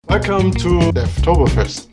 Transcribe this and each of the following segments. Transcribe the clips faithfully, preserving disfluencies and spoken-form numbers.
Welcome to Devtoberfest.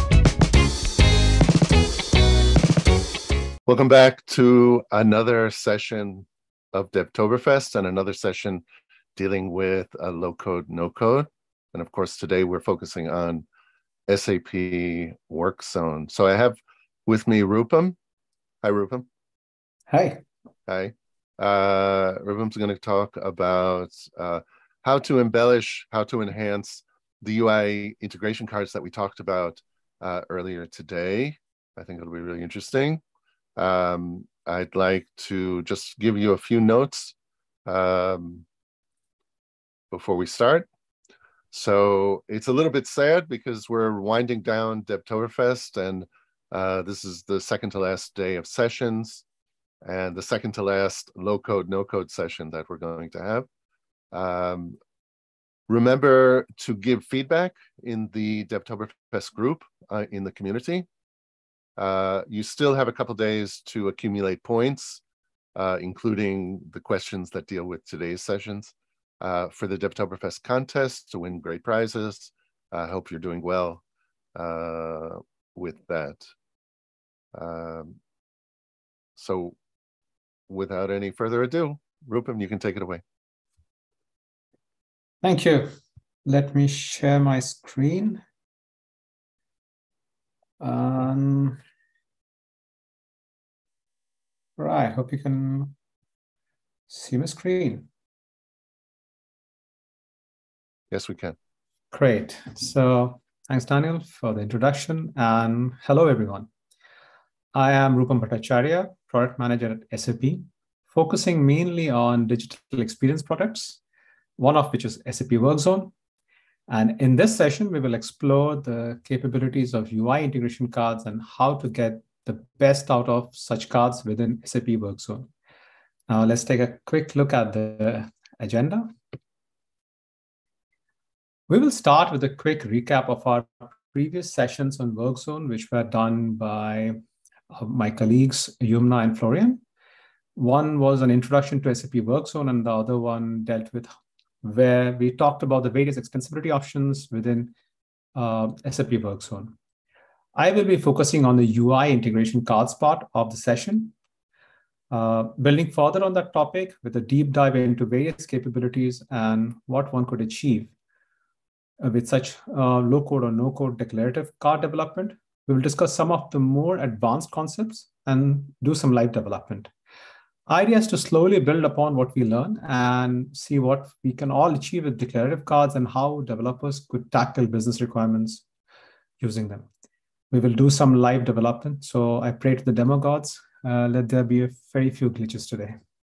Welcome back to another session of Devtoberfest and another session dealing with a low-code, no-code. And of course, today we're focusing on S A P WorkZone. So I have with me Rupam. Hi, Rupam. Hi. Hi. Uh, Rupam's going to talk about uh, how to embellish, how to enhance the U I integration cards that we talked about uh, earlier today. I think it'll be really interesting. Um, I'd like to just give you a few notes um, before we start. So it's a little bit sad because we're winding down Devtoberfest, and uh, this is the second to last day of sessions and the second to last low-code, no-code session that we're going to have. Um, remember to give feedback in the Devtoberfest group uh, in the community. Uh, you still have a couple days to accumulate points, uh, including the questions that deal with today's sessions uh, for the Devtoberfest contest to win great prizes. I uh, hope you're doing well uh, with that. Um, so without any further ado, Rupam, you can take it away. Thank you. Let me share my screen. Um, right, hope you can see my screen. Yes, we can. Great. So thanks, Daniel, for the introduction. And hello, everyone. I am Rupam Bhattacharya, product manager at S A P, focusing mainly on digital experience products, one of which is S A P WorkZone. And in this session, we will explore the capabilities of U I integration cards and how to get the best out of such cards within S A P WorkZone. Now, let's take a quick look at the agenda. We will start with a quick recap of our previous sessions on WorkZone, which were done by my colleagues, Yumna and Florian. One was an introduction to S A P WorkZone, and the other one dealt with where we talked about the various extensibility options within uh, S A P WorkZone. I will be focusing on the U I integration cards part of the session, uh, building further on that topic with a deep dive into various capabilities and what one could achieve with such uh, low-code or no-code declarative card development. We will discuss some of the more advanced concepts and do some live development. Idea is to slowly build upon what we learn and see what we can all achieve with declarative cards and how developers could tackle business requirements using them. We will do some live development. So I pray to the demo gods, uh, let there be a very few glitches today.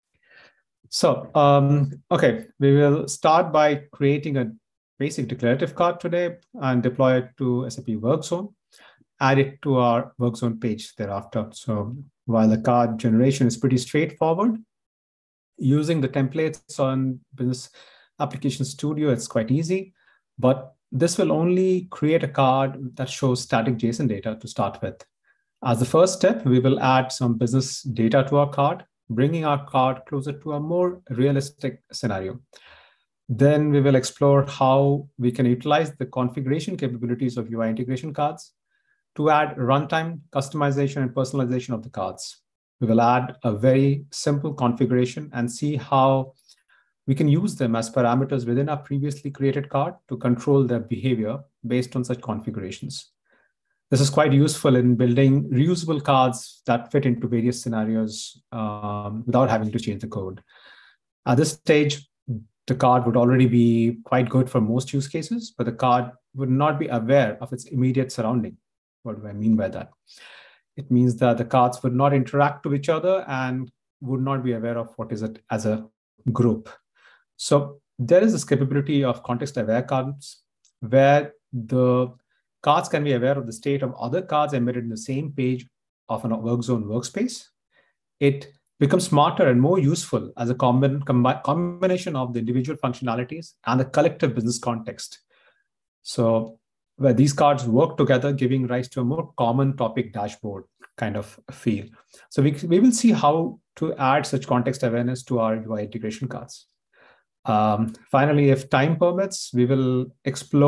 So, um, okay, we will start by creating a basic declarative card today and deploy it to S A P WorkZone, add it to our WorkZone page thereafter. So while the card generation is pretty straightforward, using the templates on Business Application Studio, it's quite easy, but this will only create a card that shows static JSON data to start with. As the first step, we will add some business data to our card, bringing our card closer to a more realistic scenario. Then we will explore how we can utilize the configuration capabilities of U I integration cards to add runtime, customization, and personalization of the cards. We will add a very simple configuration and see how we can use them as parameters within our previously created card to control their behavior based on such configurations. This is quite useful in building reusable cards that fit into various scenarios um, without having to change the code. At this stage, the card would already be quite good for most use cases, but the card would not be aware of its immediate surrounding. What do I mean by that? It means that the cards would not interact with each other and would not be aware of what is it as a group. So there is this capability of context-aware cards where the cards can be aware of the state of other cards embedded in the same page of a WorkZone workspace. It becomes smarter and more useful as a combi combi combination of the individual functionalities and the collective business context. So where these cards work together, giving rise to a more common topic dashboard kind of feel. So we, we will see how to add such context awareness to our U I integration cards. Um, finally, if time permits, we will explore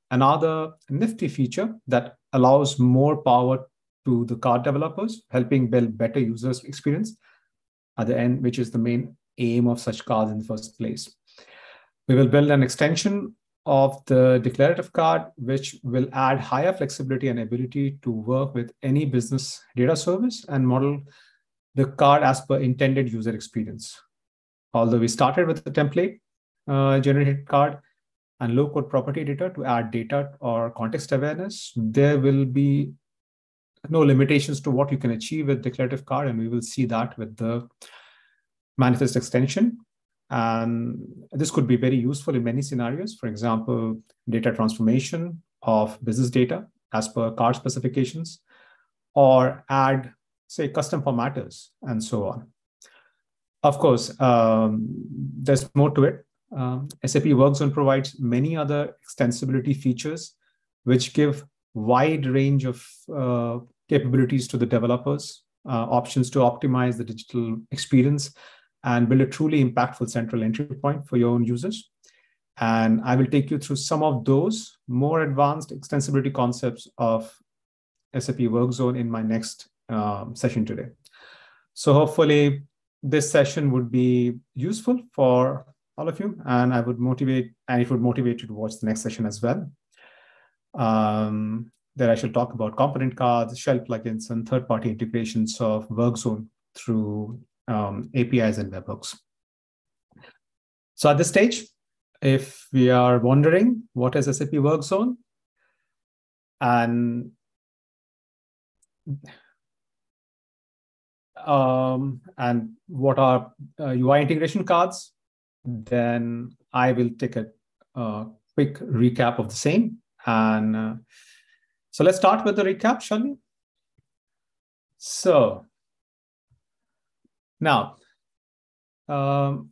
another nifty feature that allows more power to the card developers, helping build better user experience at the end, which is the main aim of such cards in the first place. We will build an extension of the declarative card, which will add higher flexibility and ability to work with any business data service and model the card as per intended user experience. Although we started with the template uh, generated card and low-code property editor to add data or context awareness, there will be no limitations to what you can achieve with declarative card, and we will see that with the manifest extension. And this could be very useful in many scenarios. For example, data transformation of business data as per card specifications, or add, say, custom formatters, and so on. Of course, um, there's more to it. Um, S A P WorkZone provides many other extensibility features, which give wide range of uh, capabilities to the developers, uh, options to optimize the digital experience, and build a truly impactful central entry point for your own users. And I will take you through some of those more advanced extensibility concepts of S A P WorkZone in my next um, session today. So hopefully this session would be useful for all of you, and I would motivate, and it would motivate you to watch the next session as well. Um, there I shall talk about component cards, shell plugins, and third-party integrations of WorkZone through um, A P Is and webhooks. So at this stage, if we are wondering what is S A P WorkZone, and um, and what are uh, U I integration cards, then I will take a uh, quick recap of the same. And uh, so let's start with the recap, shall we? So now, um,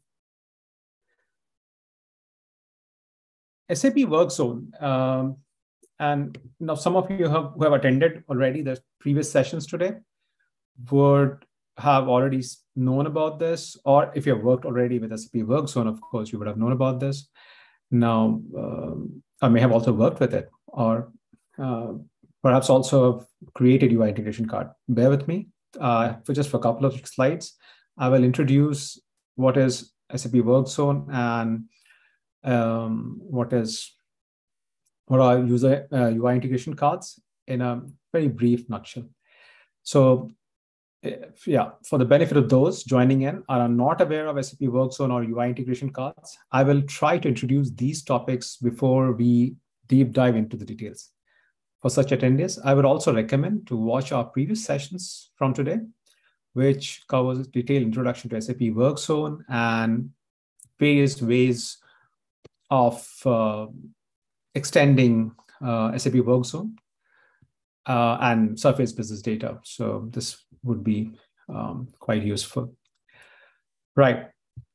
S A P WorkZone, um, and now some of you have, who have attended already the previous sessions today would have already known about this, or if you have worked already with S A P WorkZone, of course, you would have known about this. Now, um, I may have also worked with it, or uh, perhaps also have created U I integration card. Bear with me uh, for just for a couple of slides. I will introduce what is S A P WorkZone and um, what is what are user uh, U I integration cards in a very brief nutshell. So, if, yeah, for the benefit of those joining in are not aware of S A P WorkZone or U I integration cards, I will try to introduce these topics before we deep dive into the details. For such attendees, I would also recommend to watch our previous sessions from today, which covers detailed introduction to S A P WorkZone and various ways of uh, extending uh, S A P WorkZone uh, and surface business data. So this would be um, quite useful. Right.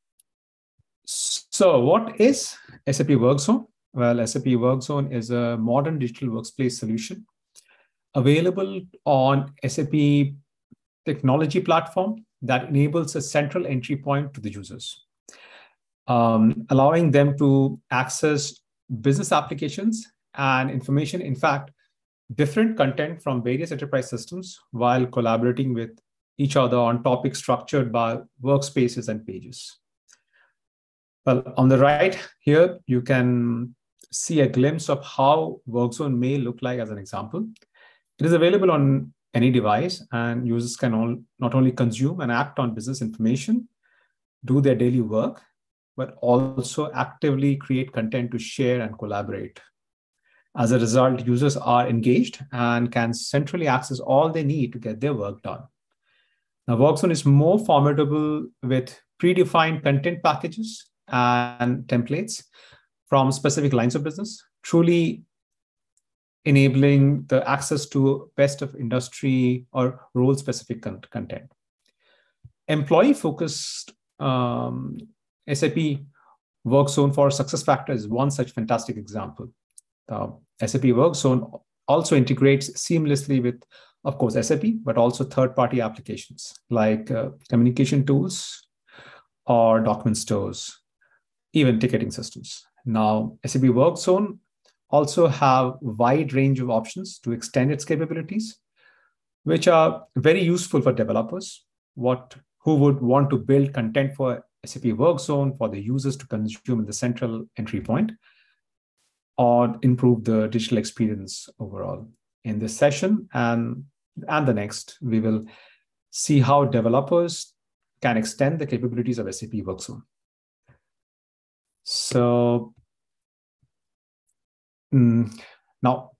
So what is S A P WorkZone? Well, S A P WorkZone is a modern digital workplace solution available on S A P technology platform that enables a central entry point to the users, um, allowing them to access business applications and information, in fact, different content from various enterprise systems while collaborating with each other on topics structured by workspaces and pages. Well, on the right here, you can see a glimpse of how WorkZone may look like as an example. It is available on any device, and users can all, not only consume and act on business information, do their daily work, but also actively create content to share and collaborate. As a result, users are engaged and can centrally access all they need to get their work done. Now, WorkZone is more formidable with predefined content packages and templates from specific lines of business, truly enabling the access to best of industry or role-specific content. Employee-focused um, S A P WorkZone for SuccessFactors is one such fantastic example. The S A P WorkZone also integrates seamlessly with, of course, S A P, but also third-party applications like uh, communication tools or document stores, even ticketing systems. Now, S A P WorkZone also have a wide range of options to extend its capabilities, which are very useful for developers what, who would want to build content for S A P Workzone for the users to consume in the central entry point, or improve the digital experience overall. In this session and, and the next, we will see how developers can extend the capabilities of S A P Workzone. So mm, now,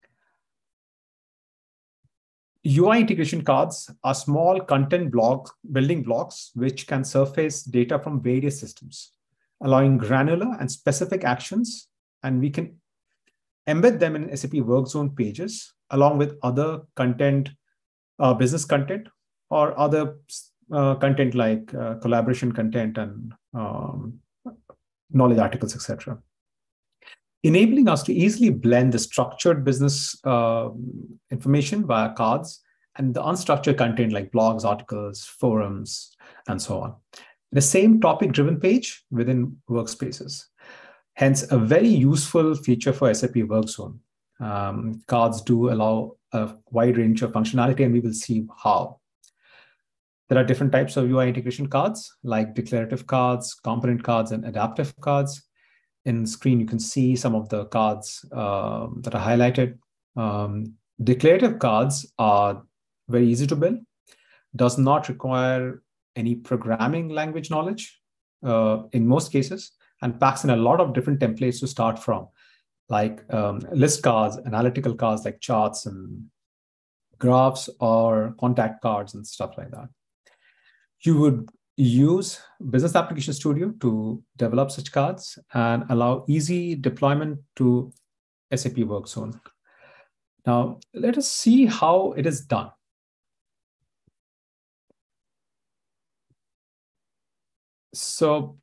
U I integration cards are small content blocks, building blocks, which can surface data from various systems, allowing granular and specific actions, and we can embed them in S A P Workzone pages, along with other content, uh, business content, or other uh, content like uh, collaboration content and um, knowledge articles, et cetera, enabling us to easily blend the structured business uh, information via cards and the unstructured content like blogs, articles, forums, and so on. The same topic-driven page within workspaces. Hence, a very useful feature for S A P Workzone. Um, cards do allow a wide range of functionality, and we will see how. There are different types of U I integration cards, like declarative cards, component cards, and adaptive cards. In the screen, you can see some of the cards uh, that are highlighted. Um, declarative cards are very easy to build, does not require any programming language knowledge uh, in most cases, and packs in a lot of different templates to start from, like um, list cards, analytical cards like charts and graphs, or contact cards and stuff like that. You would use Business Application Studio to develop such cards and allow easy deployment to S A P Workzone. Now, let us see how it is done. So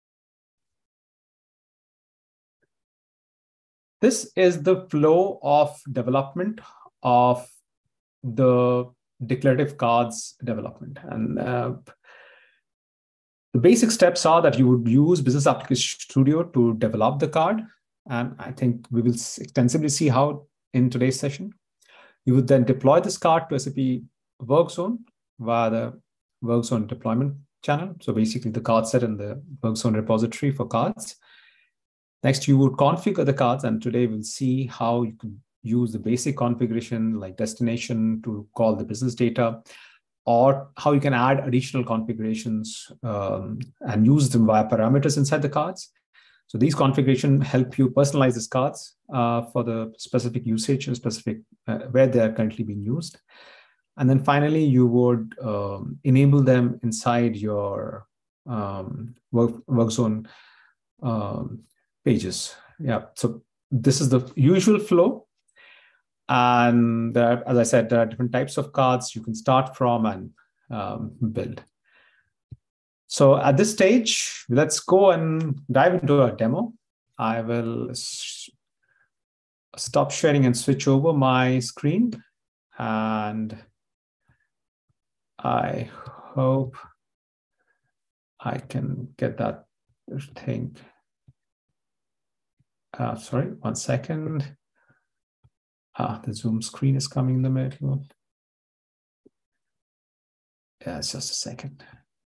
this is the flow of development of the declarative cards development. And uh, the basic steps are that you would use Business Application Studio to develop the card. And I think we will extensively see how in today's session. You would then deploy this card to S A P Workzone via the Workzone deployment channel. So basically the card set in the Workzone repository for cards. Next, you would configure the cards. And today we'll see how you can use the basic configuration like destination to call the business data, or how you can add additional configurations um, and use them via parameters inside the cards. So these configurations help you personalize these cards uh, for the specific usage and specific uh, where they are currently being used. And then finally, you would um, enable them inside your um, work, Workzone um, pages. Yeah, so this is the usual flow. And there, as I said, there are different types of cards you can start from and um, build. So at this stage, let's go and dive into a demo. I will stop sharing and switch over my screen. And I hope I can get that thing. Uh, sorry, one second. Ah, the Zoom screen is coming in the middle. Yeah, it's just a second.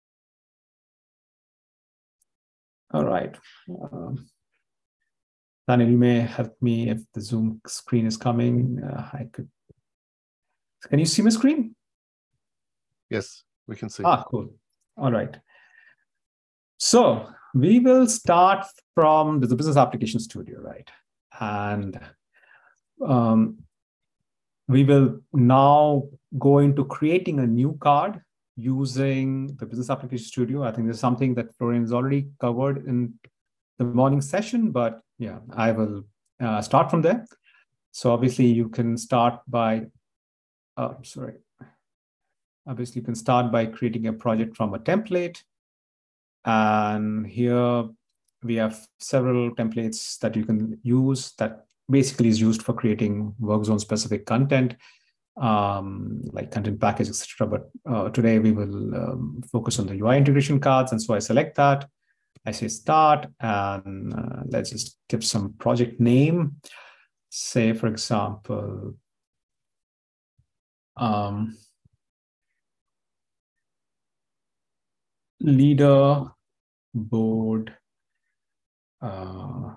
All right. Um, Daniel, you may help me if the Zoom screen is coming. Uh, I could. Can you see my screen? Yes, we can see. Ah, cool. All right. So we will start from the Business Application Studio, right? And um, we will now go into creating a new card using the Business Application Studio. I think this is something that Florian has already covered in the morning session, but yeah, I will uh, start from there. So obviously you can start by, uh, sorry. Obviously you can start by creating a project from a template. And here we have several templates that you can use that basically is used for creating Workzone specific content, um, like content package, et cetera. But uh, today we will um, focus on the U I integration cards. And so I select that. I say start, and uh, let's just give some project name. Say, for example, um, leader board, uh,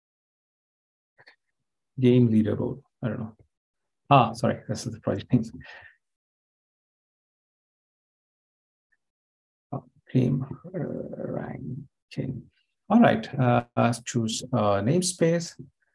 game leader board. I don't know. Ah, sorry, this is the project name. Oh, game uh, ranking. All right, uh, let's choose uh, namespace.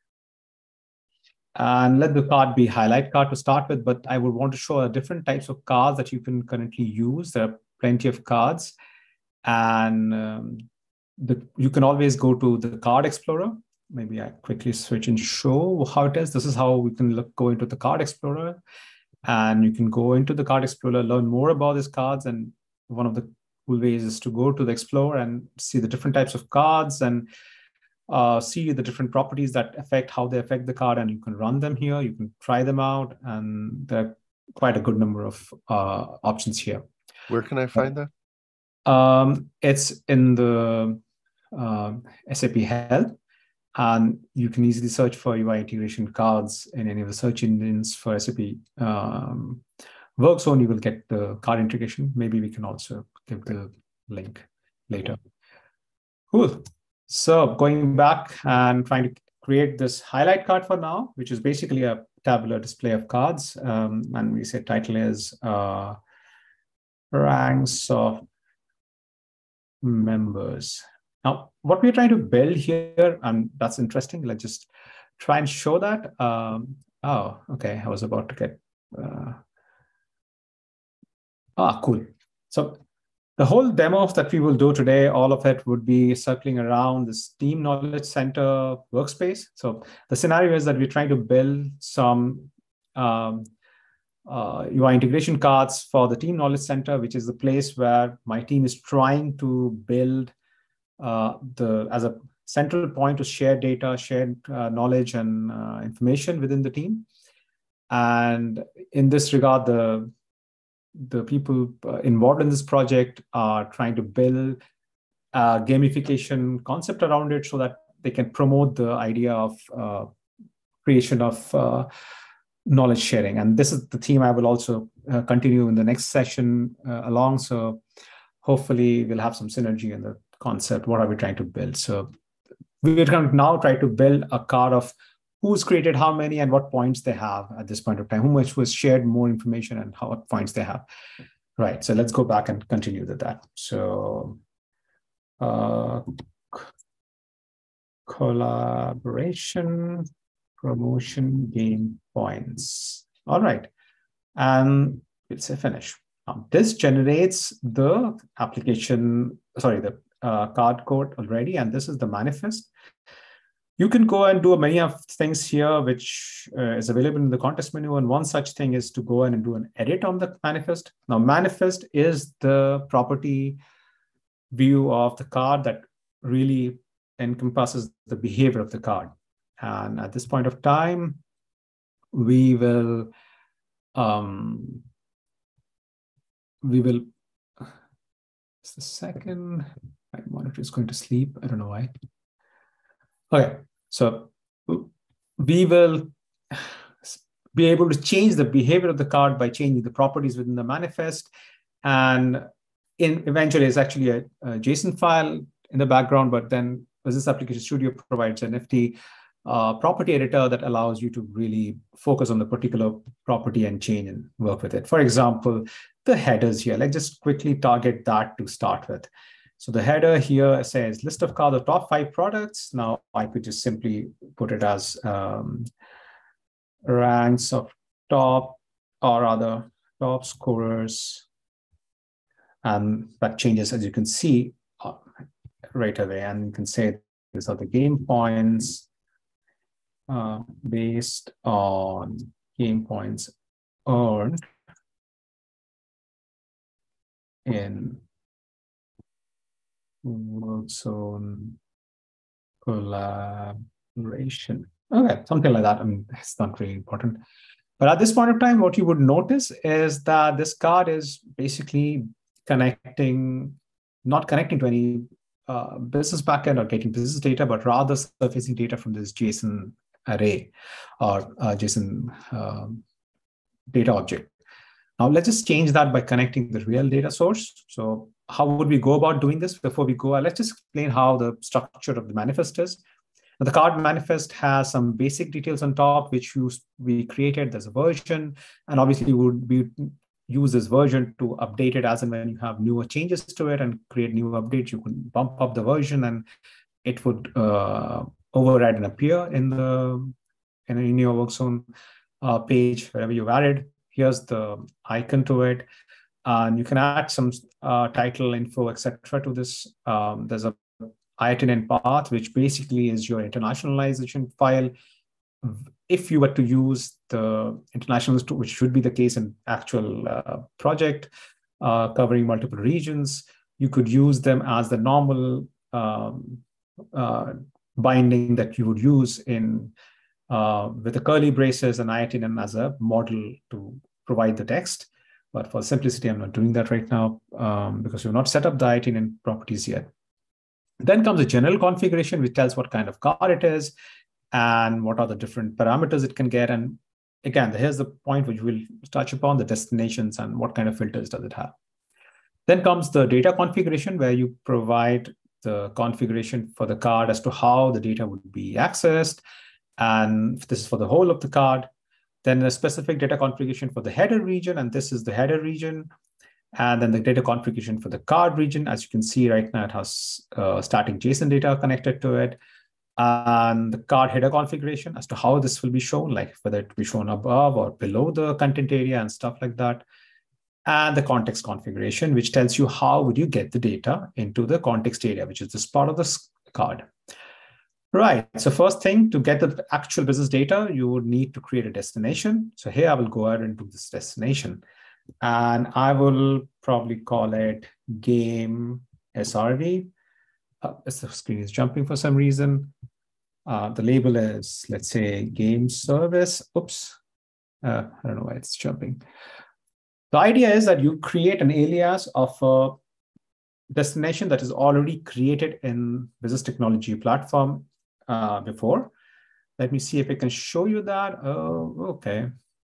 And let the card be highlight card to start with, but I would want to show different types of cards that you can currently use. There are plenty of cards. And um, the, you can always go to the card explorer. Maybe I quickly switch and show how it is. This is how we can look, go into the card explorer. And you can go into the card explorer, learn more about these cards. And one of the cool ways is to go to the explorer and see the different types of cards and uh, see the different properties that affect how they affect the card. And you can run them here. You can try them out. And there are quite a good number of uh, options here. Where can I find that? Um, it's in the uh, S A P Help, and you can easily search for U I integration cards in any of the search engines for S A P um, Workzone. You will get the card integration. Maybe we can also give the link later. Cool. So going back and trying to create this highlight card for now, which is basically a tabular display of cards. Um, and we say title is uh, ranks of members. Now, what we're trying to build here, and that's interesting. Let's just try and show that. Um, oh, okay. I was about to get. Uh, ah, cool. So the whole demo that we will do today, all of it would be circling around this Team Knowledge Center workspace. So the scenario is that we're trying to build some um, Uh, U I integration cards for the Team Knowledge Center, which is the place where my team is trying to build uh, the as a central point to share data, share uh, knowledge and uh, information within the team. And in this regard, the, the people uh, involved in this project are trying to build a gamification concept around it so that they can promote the idea of uh, creation of uh, knowledge sharing. And this is the theme I will also uh, continue in the next session uh, along. So hopefully we'll have some synergy in the concept. What are we trying to build? So we're going to now try to build a card of who's created how many and what points they have at this point of time, who much was shared more information and how what points they have. Right. So let's go back and continue with that. So uh, collaboration, promotion, gain points. All right. And we'll say finish. Now, this generates the application, sorry, the uh, card code already. And this is the manifest. You can go and do many of things here, which uh, is available in the contest menu. And one such thing is to go in and do an edit on the manifest. Now, manifest is the property view of the card that really encompasses the behavior of the card. And at this point of time, we will, um, we will, just a second, my monitor is going to sleep. I don't know why. Okay, so we will be able to change the behavior of the card by changing the properties within the manifest. And in eventually it's actually a, a JSON file in the background, but then Business Application Studio provides a nifty uh, property editor that allows you to really focus on the particular property and change and work with it. For example, the headers here, let's just quickly target that to start with. So the header here says list of cards of top five products. Now I could just simply put it as um, ranks of top or rather top scorers. And that changes, as you can see, uh, right away. And you can say these are the game points uh, based on game points earned in Workzone collaboration. Okay, something like that. I mean, it's not really important. But at this point of time, what you would notice is that this card is basically connecting, not connecting to any uh, business backend or getting business data, but rather surfacing data from this JSON array or uh, JSON um, data object. Now let's just change that by connecting the real data source. So how would we go about doing this? Before we go, let's just explain how the structure of the manifest is. Now, the card manifest has some basic details on top, which you, we created. There's a version, and obviously we would be use this version to update it as and when you have newer changes to it and create new updates. You can bump up the version and it would uh, override and appear in the in, in your WorkZone uh, page, wherever you've added. Here's the icon to it. And you can add some uh, title info, et cetera to this. Um, there's a I I T N path, which basically is your internationalization file. If you were to use the internationals, which should be the case in actual uh, project uh, covering multiple regions, you could use them as the normal um, uh, binding that you would use in uh, with the curly braces and I I T N as a model to provide the text. But for simplicity, I'm not doing that right now um, because we've not set up the I I T N properties yet. Then comes a general configuration, which tells what kind of card it is and what are the different parameters it can get. And again, here's the point which we'll touch upon, the destinations and what kind of filters does it have. Then comes the data configuration, where you provide the configuration for the card as to how the data would be accessed. And this is for the whole of the card. Then a specific data configuration for the header region, and this is the header region. And then the data configuration for the card region. As you can see right now, it has uh, static JSON data connected to it. And the card header configuration as to how this will be shown, like whether it will be shown above or below the content area and stuff like that. And the context configuration, which tells you how would you get the data into the context area, which is this part of the card. Right, so first thing, to get the actual business data, you would need to create a destination. So here I will go ahead and do this destination. And I will probably call it game S R V. Uh, the screen is jumping for some reason. Uh, the label is, let's say, game service. Oops, uh, I don't know why it's jumping. The idea is that you create an alias of a destination that is already created in Business Technology Platform uh, before. Let me see if I can show you that. Oh, okay.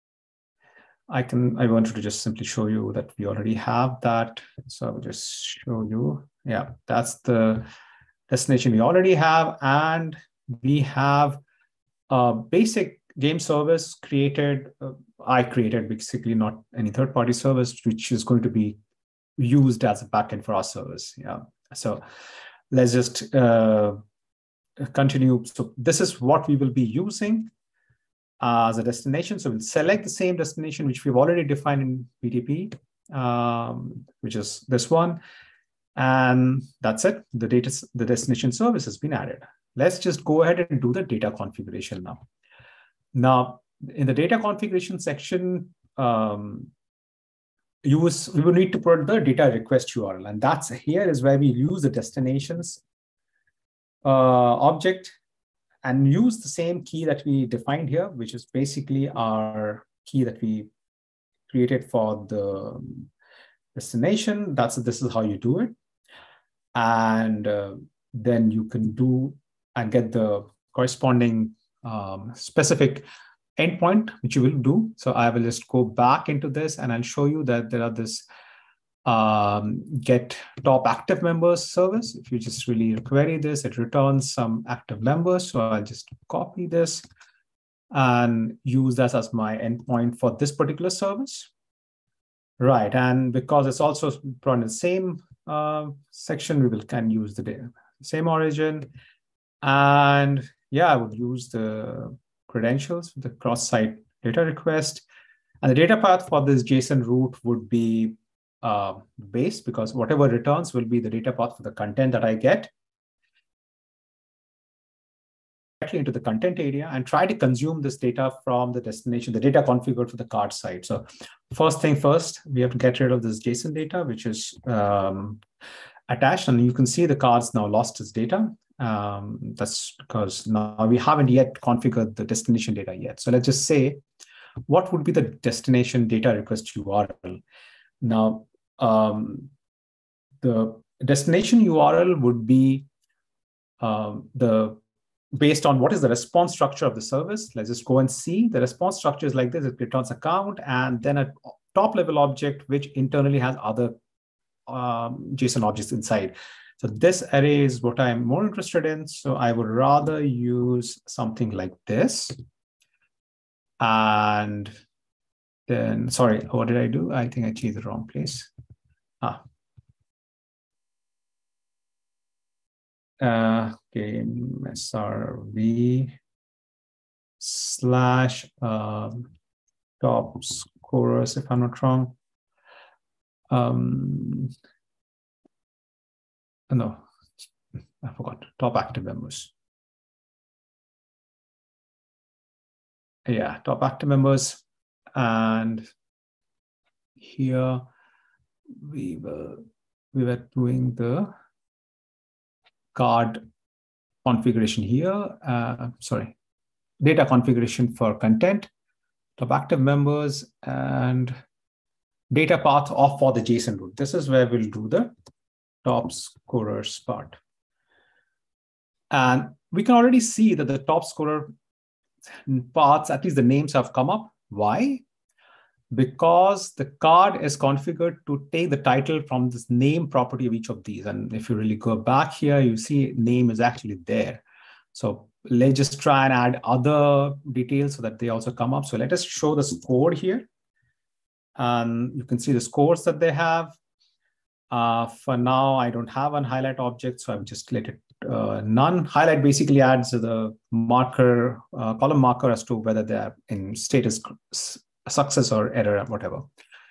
I can, I wanted to just simply show you that we already have that. So I will just show you. Yeah, that's the destination we already have. And we have a basic game service created. Uh, I created basically, not any third-party service, which is going to be used as a backend for our service. Yeah. So let's just uh, continue. So this is what we will be using as a destination. So we'll select the same destination, which we've already defined in B T P, um, which is this one. And that's it. The data, the destination service has been added. Let's just go ahead and do the data configuration now. Now, in the data configuration section, um, you was, we will need to put the data request U R L. And that's here is where we use the destinations uh, object and use the same key that we defined here, which is basically our key that we created for the destination. That's this is how you do it. And uh, then you can do and get the corresponding um, specific endpoint, which you will do. So I will just go back into this and I'll show you that there are this um, get top active members service. If you just really query this, it returns some active members. So I'll just copy this and use that as my endpoint for this particular service. Right, and because it's also brought in the same uh, section, we will can use the data, same origin. And yeah, I would use the credentials for the cross-site data request. And the data path for this JSON root would be uh, base, because whatever returns will be the data path for the content that I get directly into the content area and try to consume this data from the destination, the data configured for the card side. So first thing first, we have to get rid of this JSON data, which is um, attached. And you can see the cards now lost its data. Um, that's because now we haven't yet configured the destination data yet. So let's just say, what would be the destination data request U R L? Now, um, the destination U R L would be um, the based on what is the response structure of the service. Let's just go and see. The response structure is like this. It returns account and then a top level object, which internally has other um, JSON objects inside. So this array is what I'm more interested in. So I would rather use something like this. And then, sorry, what did I do? I think I changed the wrong place. Ah. Uh, okay, S R V slash um, top scorers, if I'm not wrong. Um, no, I forgot. Top active members. Yeah, top active members. And here we were we were doing the card configuration here. Uh, sorry, data configuration for content, top active members, and data path off for the JSON route. This is where we'll do the top scorers part. And we can already see that the top scorer paths, at least the names have come up. Why? Because the card is configured to take the title from this name property of each of these. And if you really go back here, you see name is actually there. So let's just try and add other details so that they also come up. So let us show the score here. And you can see the scores that they have. Uh, for now, I don't have an highlight object, so I've just let it uh, none. Highlight basically adds the marker, uh, column marker as to whether they're in status success or error or whatever.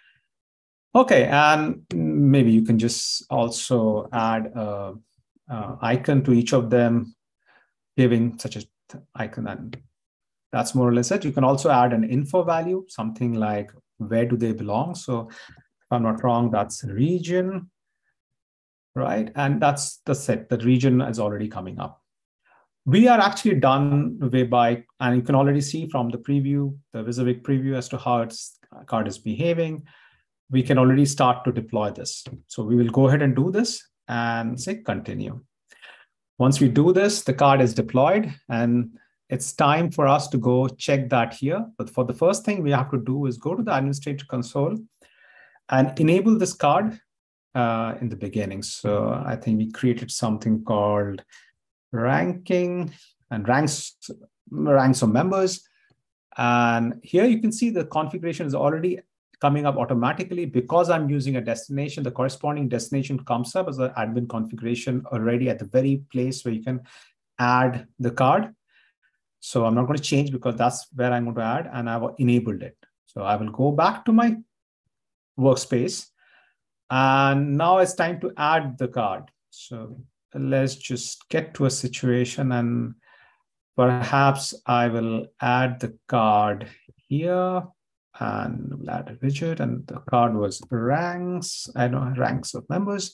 Okay, and maybe you can just also add a, a icon to each of them, giving such an icon, and that's more or less it. You can also add an info value, something like where do they belong. So if I'm not wrong, that's region, right? And that's the set. The region is already coming up. We are actually done way by, and you can already see from the preview, the WYSIWYG preview as to how its card is behaving. We can already start to deploy this. So we will go ahead and do this and say continue. Once we do this, the card is deployed and it's time for us to go check that here. But for the first thing we have to do is go to the administrator console and enable this card uh, in the beginning. So I think we created something called ranking and ranks, ranks of members. And here you can see the configuration is already coming up automatically. Because I'm using a destination, the corresponding destination comes up as an admin configuration already at the very place where you can add the card. So I'm not going to change because that's where I'm going to add, and I've enabled it. So I will go back to my workspace. And now it's time to add the card. So let's just get to a situation, and perhaps I will add the card here and we'll add a widget, and the card was ranks, I know ranks of members,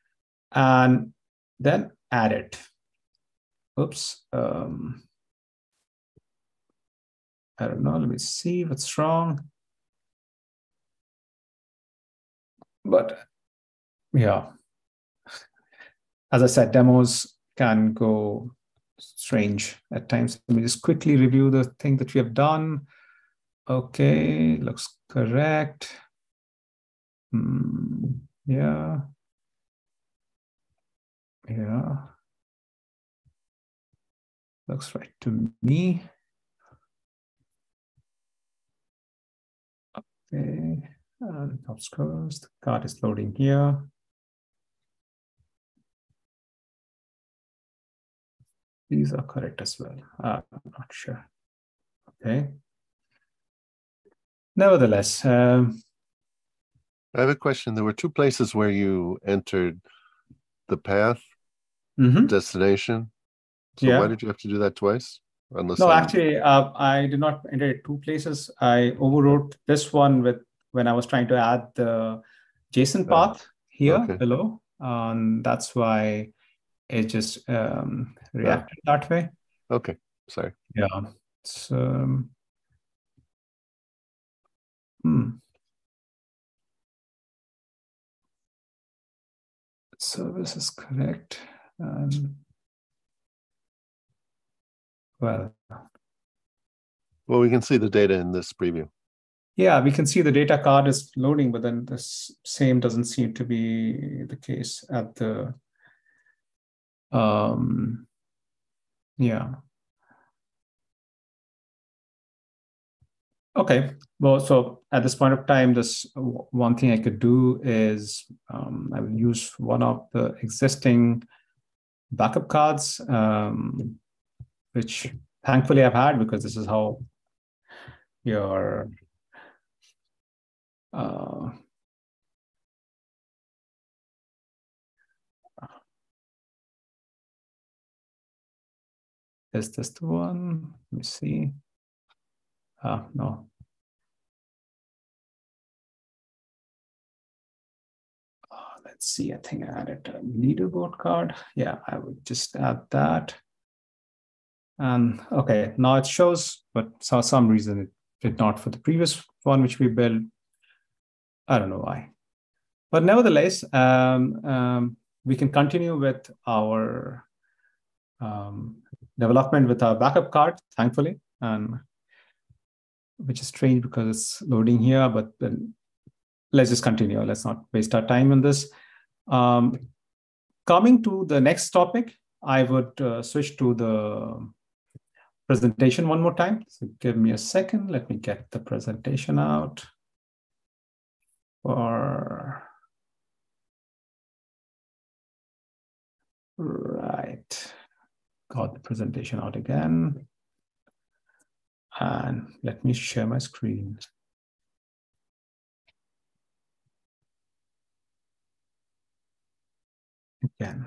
and then add it. Oops. Um, I don't know. Let me see what's wrong. But yeah, as I said, demos can go strange at times. Let me just quickly review the thing that we have done. Okay, looks correct. Hmm, yeah. Yeah. Looks right to me. Okay, and top scores, the card is loading here. These are correct as well. Uh, I'm not sure. Okay. Nevertheless, um, I have a question. There were two places where you entered the path, mm-hmm. destination. So yeah. why did you have to do that twice? Unless no, I'm... actually, uh, I did not enter it two places. I overwrote this one with when I was trying to add the JSON path here okay. below. Um, that's why it just um, reacted oh. that way. Okay, sorry. Yeah. So, hmm. service is correct. And well, well, we can see the data in this preview. Yeah, we can see the data card is loading, but then the same doesn't seem to be the case at the, um, yeah. Okay, well, so at this point of time, this one thing I could do is um, I will use one of the existing backup cards, um, which thankfully I've had, because this is how your uh, is this the one? Let me see. Ah, no. Oh, let's see, I think I added a leaderboard card. Yeah, I would just add that. And okay, now it shows, but for some reason it did not for the previous one, which we built. I don't know why. But nevertheless, um, um, we can continue with our um, development with our backup card, thankfully, and which is strange because it's loading here, but then let's just continue. Let's not waste our time on this. Um, coming to the next topic, I would uh, switch to the presentation one more time. So give me a second. Let me get the presentation out. Or right, got the presentation out again. And let me share my screen. Again.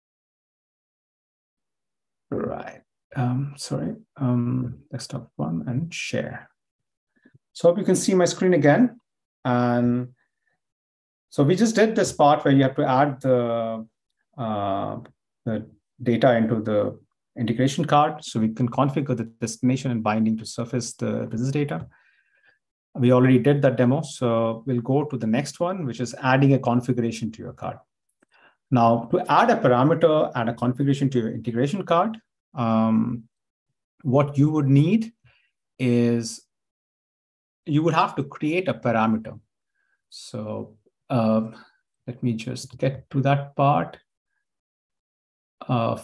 Right. Um, sorry. Um, desktop one and share. So hope you can see my screen again. And so we just did this part where you have to add the, uh, the data into the integration card. So we can configure the destination and binding to surface the business data. We already did that demo. So we'll go to the next one, which is adding a configuration to your card. Now, to add a parameter and a configuration to your integration card, um, what you would need is you would have to create a parameter. So uh, let me just get to that part. Uh,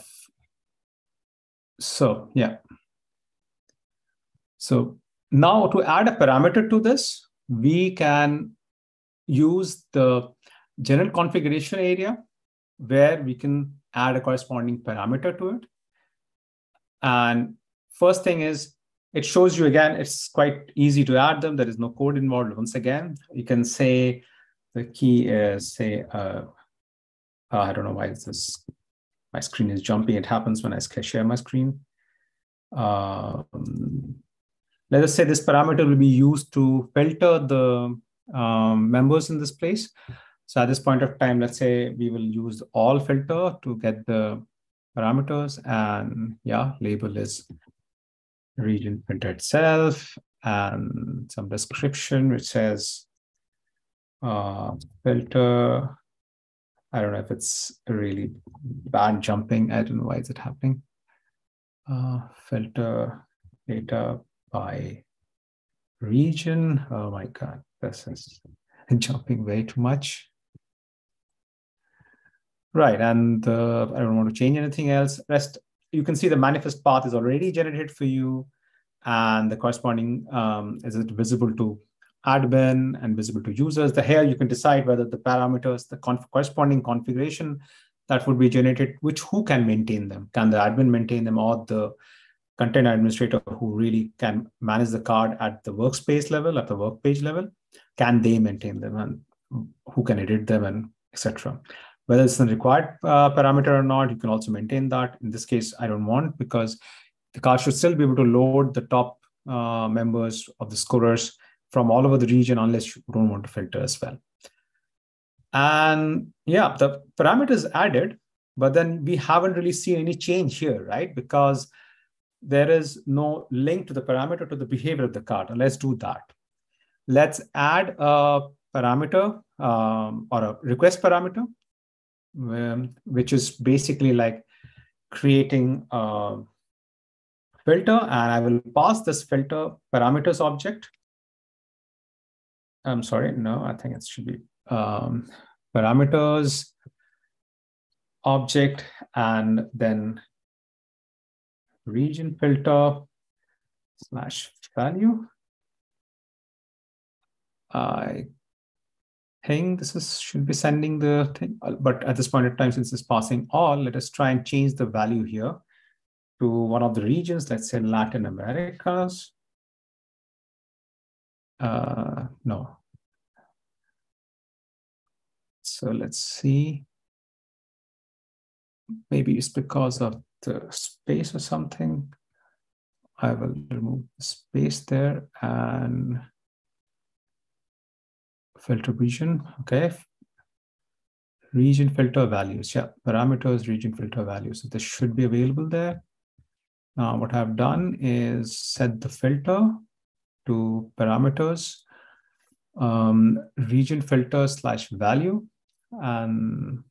so yeah. So now to add a parameter to this, we can use the general configuration area where we can add a corresponding parameter to it. And first thing is, it shows you again, it's quite easy to add them. There is no code involved. Once again, you can say the key is say, uh, uh, I don't know why this, my screen is jumping. It happens when I share my screen. Um, let us say this parameter will be used to filter the um, members in this place. So at this point of time, let's say we will use all filter to get the parameters, and yeah, label is region printer itself, and some description which says uh, filter. I don't know if it's really bad jumping. I don't know why is it happening. Uh, filter data by region. Oh my God, this is jumping way too much. Right, and uh, I don't want to change anything else. Rest, you can see the manifest path is already generated for you, and the corresponding um, is it visible to admin and visible to users. The here you can decide whether the parameters, the conf corresponding configuration that would be generated, which who can maintain them? Can the admin maintain them, or the content administrator who really can manage the card at the workspace level, at the work page level? Can they maintain them, and who can edit them, and et cetera. Whether it's a required uh, parameter or not, you can also maintain that. In this case, I don't want, because the card should still be able to load the top uh, members of the scorers from all over the region, unless you don't want to filter as well. And yeah, the parameter is added, but then we haven't really seen any change here, right? Because there is no link to the parameter to the behavior of the card. And let's do that. Let's add a parameter um, or a request parameter. um, which is basically like creating a filter, and I will pass this filter parameters object. I'm sorry, no, I think it should be um, parameters object, and then region filter slash value. I think this is should be sending the thing, but at this point in time, since it's passing all, let us try and change the value here to one of the regions, let's say Latin Americas. Uh, no. So let's see. Maybe it's because of the space or something. I will remove the space there and filter region. Okay. Region filter values. Yeah, parameters, region filter values. So this should be available there. Now, what I've done is set the filter to parameters, um, region filter slash value, and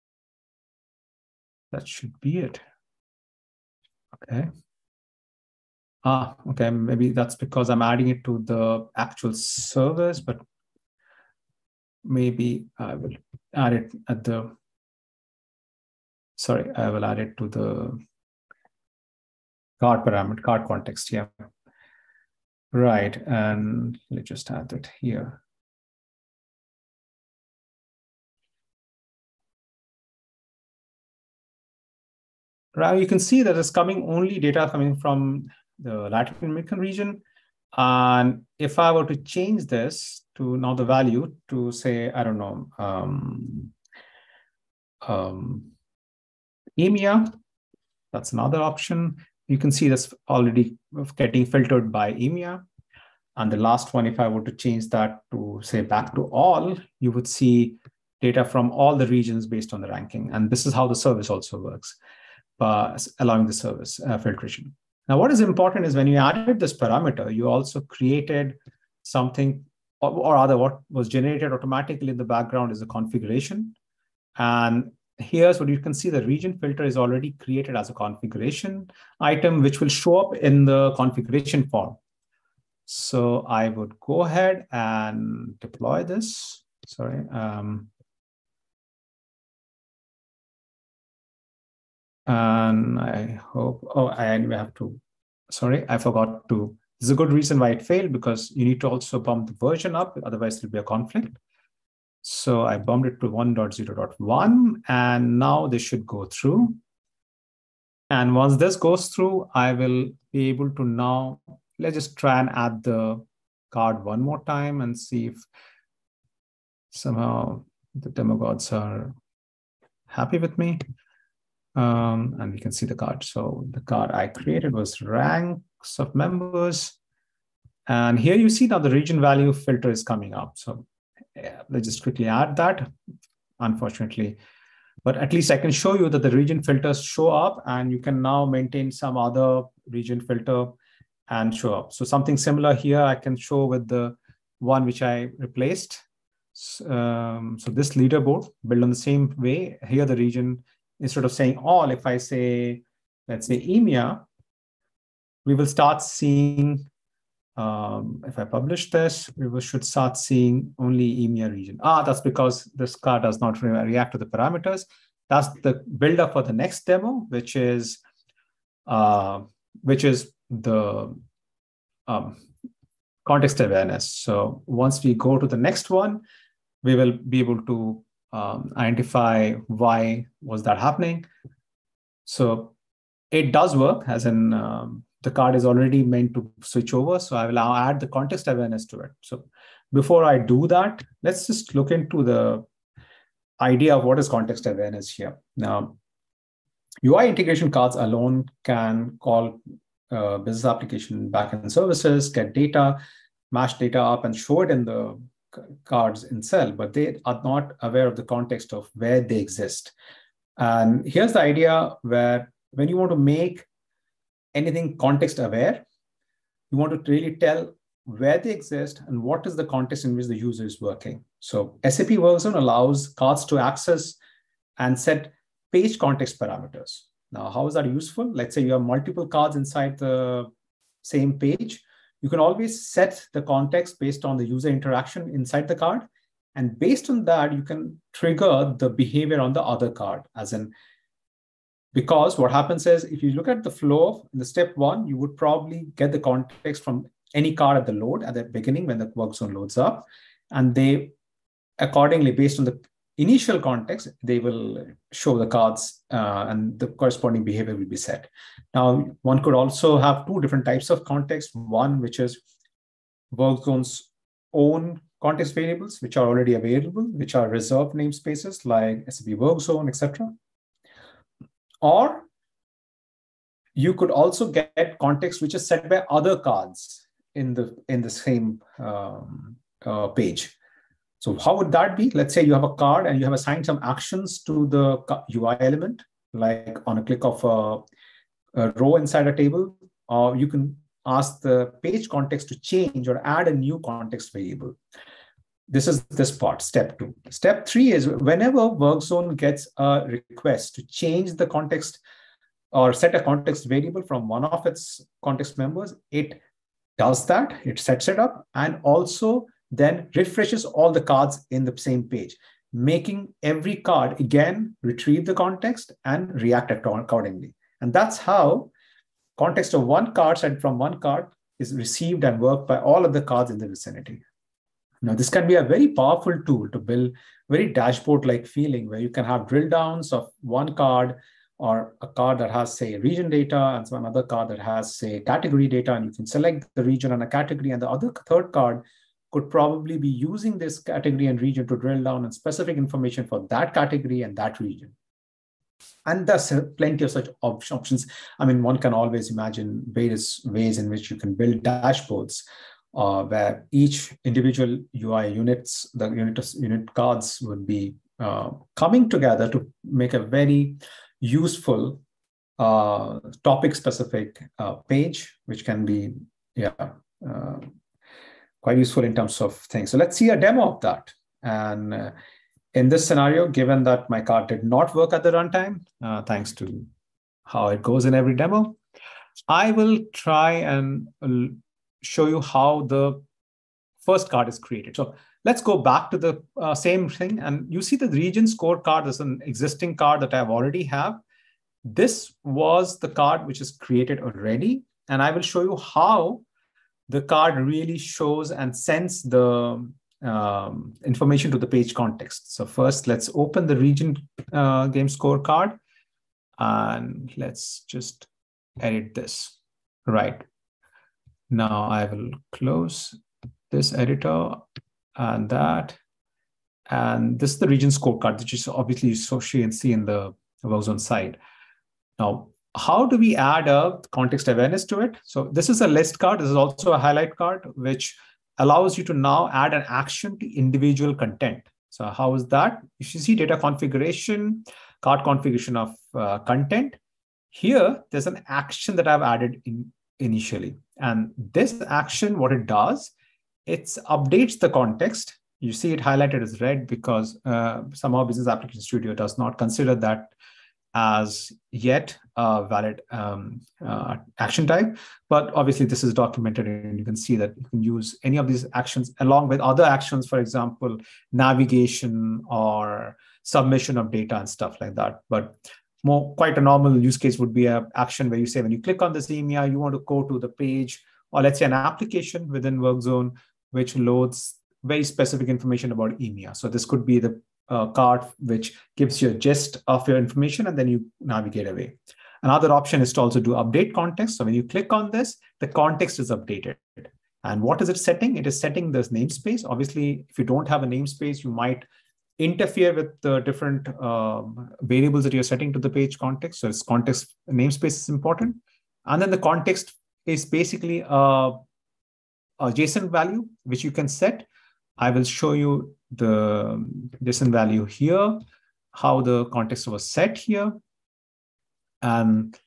that should be it. Okay. Ah, okay. Maybe that's because I'm adding it to the actual servers, but maybe I will add it at the, sorry, I will add it to the card parameter, card context. Yeah. Right. And let's just add it here. Now you can see that it's coming only data coming from the Latin American region. And if I were to change this to now the value to say, I don't know, um, um, E M E A, that's another option. You can see that's already getting filtered by E M E A. And the last one, if I were to change that to say back to all, you would see data from all the regions based on the ranking. And this is how the service also works, uh, allowing the service uh, filtration. Now, what is important is when you added this parameter, you also created something, or, or rather what was generated automatically in the background is a configuration. And here's what you can see, the region filter is already created as a configuration item, which will show up in the configuration form. So I would go ahead and deploy this. Sorry. Um, and I hope, oh, I anyway have to, sorry, I forgot to, this is a good reason why it failed, because you need to also bump the version up, otherwise there'll be a conflict. So I bumped it to one point zero point one, and now this should go through. And once this goes through, I will be able to now, let's just try and add the card one more time and see if somehow the demigods are happy with me. Um, and we can see the card. So the card I created was ranks of members. And here you see now the region value filter is coming up. So yeah, let's just quickly add that, unfortunately. But at least I can show you that the region filters show up, and you can now maintain some other region filter and show up. So something similar here I can show with the one which I replaced. Um, so this leaderboard built on the same way. Here the region, instead of saying all, if I say, let's say E M E A, we will start seeing, um, if I publish this, we will, should start seeing only E M E A region. Ah, that's because this card does not re react to the parameters. That's the builder for the next demo, which is, uh, which is the um, context awareness. So once we go to the next one, we will be able to um, identify why was that happening. So it does work, as in um, the card is already meant to switch over. So I will now add the context awareness to it. So before I do that, let's just look into the idea of what is context awareness here. Now, U I integration cards alone can call uh, business application backend services, get data, mash data up and show it in the cards itself, but they are not aware of the context of where they exist. And here's the idea where when you want to make anything context aware, you want to really tell where they exist and what is the context in which the user is working. So S A P Workzone allows cards to access and set page context parameters. Now, how is that useful? Let's say you have multiple cards inside the same page. You can always set the context based on the user interaction inside the card. And based on that, you can trigger the behavior on the other card. As in, because what happens is, if you look at the flow in the step one, you would probably get the context from any card at the load at the beginning when the work zone loads up. And they accordingly, based on the initial context, they will show the cards uh, and the corresponding behavior will be set. Now, one could also have two different types of context. One, which is work zone's own context variables, which are already available, which are reserved namespaces like S A P work zone, et cetera. Or you could also get context which is set by other cards in the in the same um, uh, page. So how would that be? Let's say you have a card and you have assigned some actions to the U I element, like on a click of a, a row inside a table, or you can ask the page context to change or add a new context variable. This is this part, step two. Step three is whenever work zone gets a request to change the context or set a context variable from one of its context members, it does that, it sets it up, and also then refreshes all the cards in the same page, making every card again retrieve the context and react accordingly. And that's how context of one card set from one card is received and worked by all of the cards in the vicinity. Now, this can be a very powerful tool to build very dashboard-like feeling where you can have drill downs of one card or a card that has, say, region data and some other card that has, say, category data, and you can select the region and a category, and the other third card could probably be using this category and region to drill down on specific information for that category and that region. And there's plenty of such op options. I mean, one can always imagine various ways in which you can build dashboards uh, where each individual U I units, the unit, unit cards would be uh, coming together to make a very useful uh, topic-specific uh, page, which can be, yeah, uh, quite useful in terms of things. So let's see a demo of that. And uh, in this scenario, given that my card did not work at the runtime, uh, thanks to how it goes in every demo, I will try and uh, show you how the first card is created. So let's go back to the uh, same thing. And you see the region scorecard is an existing card that I've already have. This was the card which is created already. And I will show you how the card really shows and sends the um, information to the page context. So first, let's open the region uh, game scorecard, and let's just edit this. Right. Now I will close this editor and that. And this is the region scorecard, which is obviously so you can see in the work zone side. Now, how do we add a context awareness to it? So this is a list card. This is also a highlight card, which allows you to now add an action to individual content. So how is that? You should see data configuration, card configuration of uh, content. Here, there's an action that I've added in initially. And this action, what it does, it updates the context. You see it highlighted as red because uh, somehow Business Application Studio does not consider that as yet a valid um, uh, action type. But obviously this is documented and you can see that you can use any of these actions along with other actions, for example, navigation or submission of data and stuff like that. But more quite a normal use case would be an action where you say, when you click on this E M E A, you want to go to the page, or let's say an application within WorkZone, which loads very specific information about E M E A. So this could be the uh, card which gives you a gist of your information and then you navigate away. Another option is to also do update context. So when you click on this, the context is updated. And what is it setting? It is setting this namespace. Obviously, if you don't have a namespace, you might interfere with the different um, variables that you're setting to the page context. So it's context namespace is important. And then the context is basically a, a JSON value, which you can set. I will show you the JSON value here, how the context was set here. And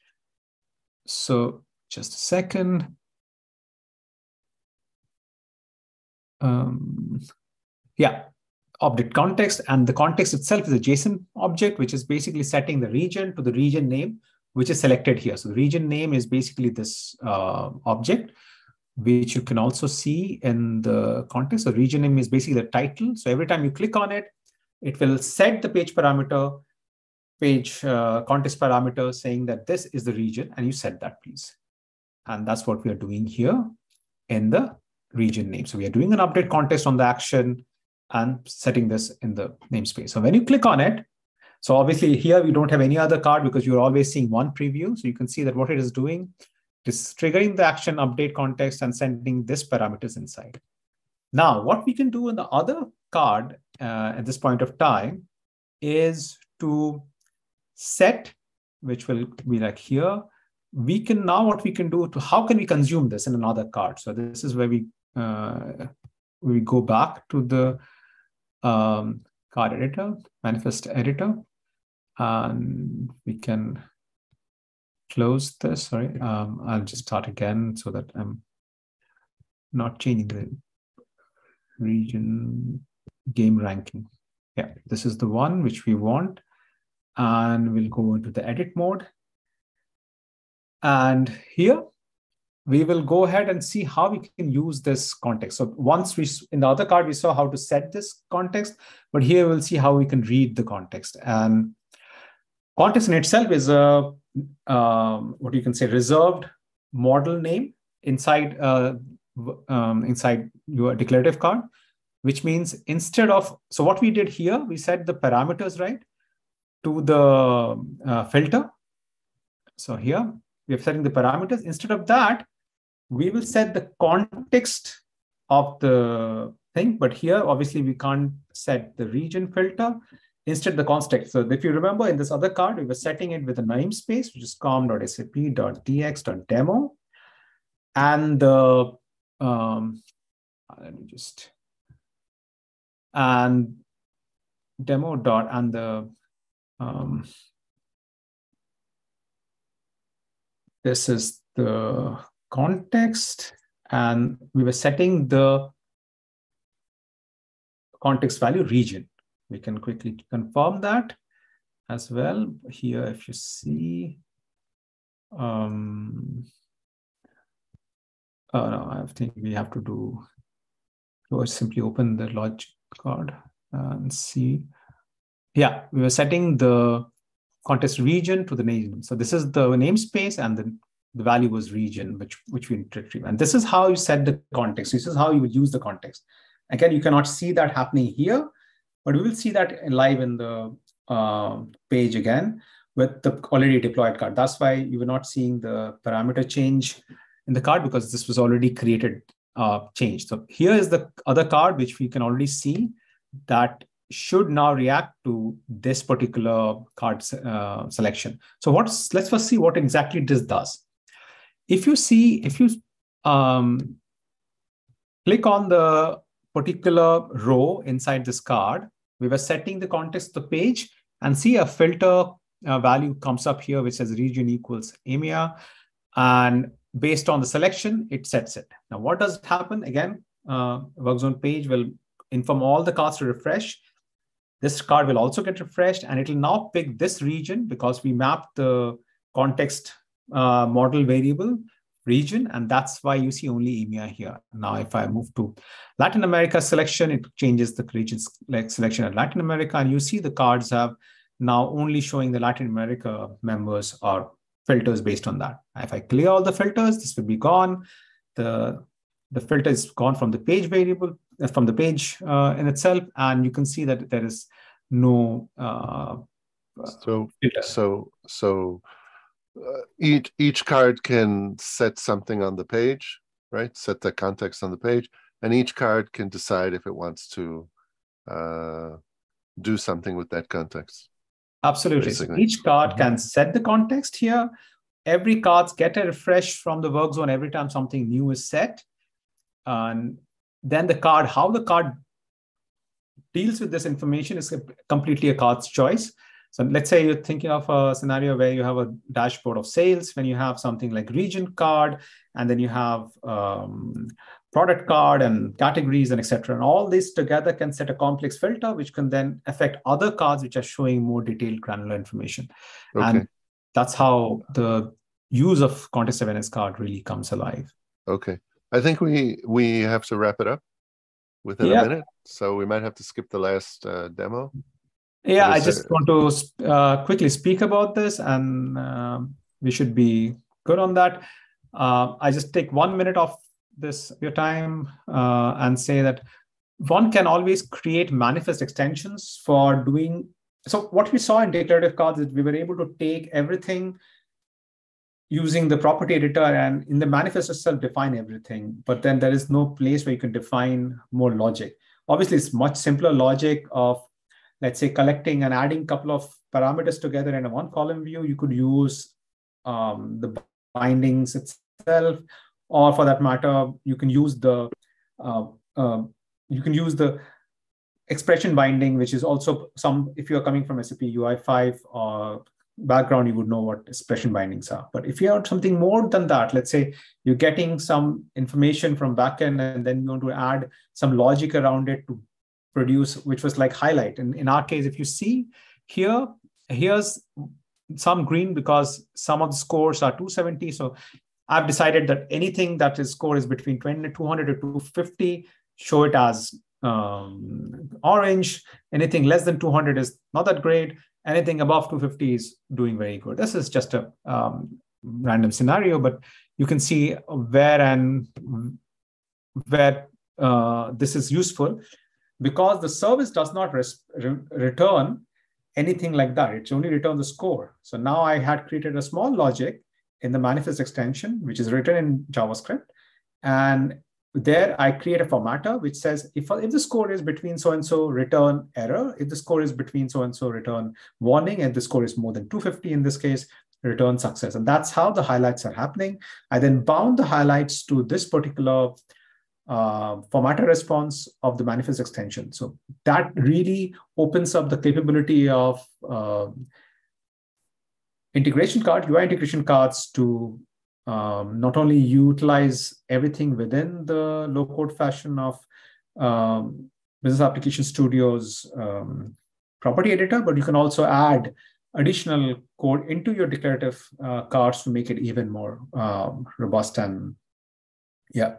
so just a second. Um, yeah. object context, and the context itself is a JSON object, which is basically setting the region to the region name, which is selected here. So the region name is basically this uh, object, which you can also see in the context. So region name is basically the title. So every time you click on it, it will set the page parameter, page uh, context parameter saying that this is the region, and you set that, please. And that's what we are doing here in the region name. So we are doing an update context on the action and setting this in the namespace. So when you click on it, so obviously here we don't have any other card because you're always seeing one preview. So you can see that what it is doing is triggering the action update context and sending this parameters inside. Now, what we can do in the other card uh, at this point of time is to set, which will be like here. We can now, what we can do to, how can we consume this in another card? So this is where we, uh, we go back to the um, card editor, manifest editor, and we can close this. Sorry, um, I'll just start again so that I'm not changing the region game ranking. Yeah, this is the one which we want. And we'll go into the edit mode. And here we will go ahead and see how we can use this context. So once we, in the other card, we saw how to set this context, but here we'll see how we can read the context. And context in itself is a, um, what you can say, reserved model name inside, uh, um, inside your declarative card, which means instead of, so what we did here, we set the parameters, right, to the uh, filter. So here we are setting the parameters. Instead of that, we will set the context of the thing. But here, obviously, we can't set the region filter. Instead, the context. So if you remember in this other card, we were setting it with a namespace, which is com.sap.tx.demo. And the, um, let me just, and demo dot, and the, um, this is the context, and we were setting the context value region. We can quickly confirm that as well. Here, if you see, um, oh no, I think we have to do, or simply open the logic card and see. Yeah, we were setting the context region to the name. So this is the namespace, and the, the value was region, which, which we retrieve. And this is how you set the context. This is how you would use the context. Again, you cannot see that happening here, but we will see that live in the uh, page again with the already deployed card. That's why you were not seeing the parameter change in the card, because this was already created uh, change. So here is the other card, which we can already see that should now react to this particular card uh, selection. So what's, let's first see what exactly this does. If you see, if you um, click on the particular row inside this card, we were setting the context of the page, and see a filter uh, value comes up here, which says region equals E M E A. And based on the selection, it sets it. Now, what does happen? Again, uh, Workzone page will inform all the cards to refresh. This card will also get refreshed, and it will now pick this region because we mapped the context uh, model variable region, and that's why you see only E M E A here. Now, if I move to Latin America selection, it changes the region selection at Latin America, and you see the cards have now only showing the Latin America members or filters based on that. If I clear all the filters, this will be gone. The, the filter is gone from the page variable, from the page uh, in itself, and you can see that there is no uh, so filter. so so uh, each each card can set something on the page, right? Set the context on the page, and each card can decide if it wants to uh, do something with that context. Absolutely. So each card can set the context here. Every cards get a refresh from the work zone every time something new is set. And then the card, how the card deals with this information is completely a card's choice. So let's say you're thinking of a scenario where you have a dashboard of sales, when you have something like region card, and then you have um, product card and categories and et cetera. And all this together can set a complex filter, which can then affect other cards which are showing more detailed granular information. Okay. And that's how the use of context awareness card really comes alive. Okay. I think we we have to wrap it up within Yeah. a minute. So we might have to skip the last uh, demo. Yeah, I Is just there- want to uh, quickly speak about this, and um, we should be good on that. Uh, I just take one minute of this your time uh, and say that one can always create manifest extensions for doing. So what we saw in declarative cards is we were able to take everything using the property editor and in the manifest itself define everything, but then there is no place where you can define more logic. Obviously, it's much simpler logic of, let's say, collecting and adding a couple of parameters together in a one column view. You could use um, the bindings itself, or for that matter, you can use the uh, uh, you can use the expression binding, which is also some, if you're coming from S A P U I five or background, you would know what expression bindings are. But if you have something more than that, let's say you're getting some information from backend and then you want to add some logic around it to produce, which was like highlight. And in our case, if you see here, here's some green because some of the scores are two seventy. So I've decided that anything that is score is between two hundred to two fifty, show it as um, orange. Anything less than two hundred is not that great. Anything above two fifty is doing very good. This is just a um, random scenario, but you can see where and where uh, this is useful, because the service does not res- re- return anything like that. It's only return the score. So now I had created a small logic in the manifest extension, which is written in JavaScript. And there I create a formatter which says, if, if the score is between so-and-so, return error. If the score is between so-and-so, return warning. If the score is more than two fifty in this case, return success. And that's how the highlights are happening. I then bound the highlights to this particular uh, formatter response of the manifest extension. So that really opens up the capability of uh, integration card, U I integration cards to um, not only utilize everything within the low-code fashion of um, Business Application Studio's um, property editor, but you can also add additional code into your declarative uh, cards to make it even more um, robust and yeah,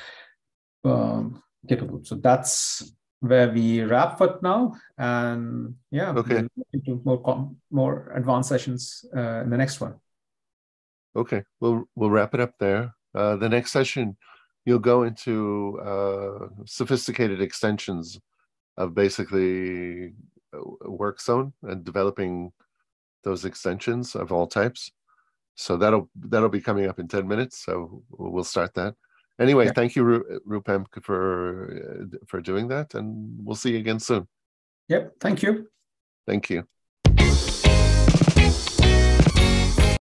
um, capable. So that's where we wrap for now, and yeah, Okay. we'll into more com- more advanced sessions uh, in the next one. Okay, we'll we'll wrap it up there. Uh, the next session, you'll go into uh, sophisticated extensions of basically WorkZone and developing those extensions of all types. So that'll that'll be coming up in ten minutes. So we'll start that. Anyway, Yeah. Thank you, Ru- Rupam, for for doing that, and we'll see you again soon. Yep. Thank you. Thank you.